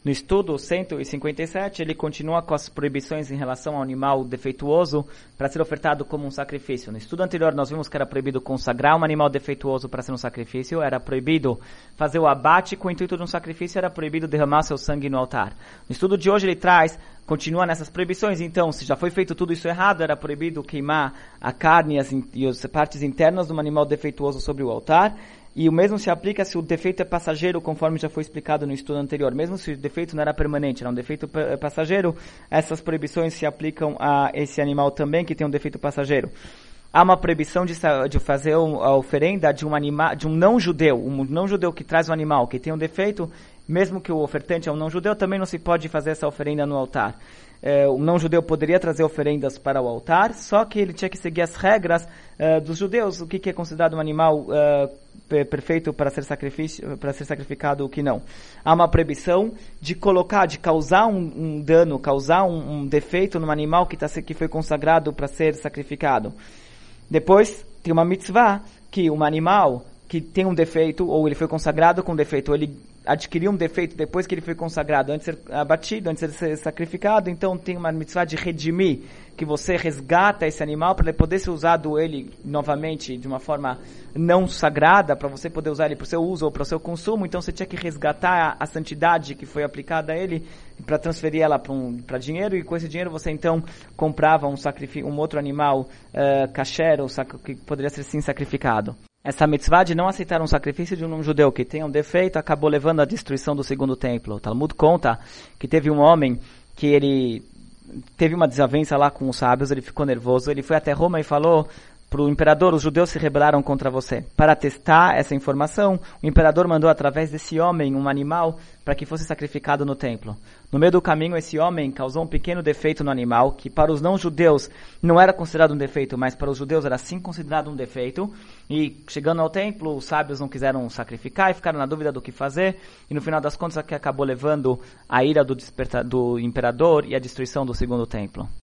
No estudo 157, ele continua com as proibições em relação ao animal defeituoso para ser ofertado como um sacrifício. No estudo anterior, nós vimos que era proibido consagrar um animal defeituoso para ser um sacrifício, era proibido fazer o abate com o intuito de um sacrifício, era proibido derramar seu sangue no altar. No estudo de hoje, ele continua nessas proibições. Então, se já foi feito tudo isso errado, era proibido queimar a carne e as partes internas de um animal defeituoso sobre o altar. E o mesmo se aplica se o defeito é passageiro, conforme já foi explicado no estudo anterior. Mesmo se o defeito não era permanente, era um defeito passageiro, essas proibições se aplicam a esse animal também, que tem um defeito passageiro. Há uma proibição de fazer a oferenda de um não-judeu que traz um animal que tem um defeito, mesmo que o ofertante é um não-judeu, também não se pode fazer essa oferenda no altar. O não-judeu poderia trazer oferendas para o altar, só que ele tinha que seguir as regras dos judeus, o que é considerado um animal perfeito para ser sacrificado, o que não. Há uma proibição de causar um dano, causar um defeito no animal que foi consagrado para ser sacrificado. Depois, tem uma mitzvah que um animal que tem um defeito, ou ele foi consagrado com defeito, ou ele adquiriu um defeito depois que ele foi consagrado, antes de ser abatido, antes de ser sacrificado, então tem uma mitzvah de redimir, que você resgata esse animal para ele poder ser usado ele novamente de uma forma não sagrada, para você poder usar ele para o seu uso ou para o seu consumo. Então você tinha que resgatar a santidade que foi aplicada a ele para transferir ela para dinheiro, e com esse dinheiro você então comprava um outro animal kasher, que poderia ser sim sacrificado. Essa mitzvah de não aceitar um sacrifício de um judeu que tem um defeito acabou levando à destruição do segundo templo. O Talmud conta que teve um homem que ele teve uma desavença lá com os sábios, ele ficou nervoso, ele foi até Roma e falou para o imperador: os judeus se rebelaram contra você. Para testar essa informação, o imperador mandou através desse homem um animal para que fosse sacrificado no templo. No meio do caminho, esse homem causou um pequeno defeito no animal, que para os não-judeus não era considerado um defeito, mas para os judeus era sim considerado um defeito. E chegando ao templo, os sábios não quiseram sacrificar e ficaram na dúvida do que fazer. E no final das contas, acabou levando a ira do imperador e a destruição do segundo templo.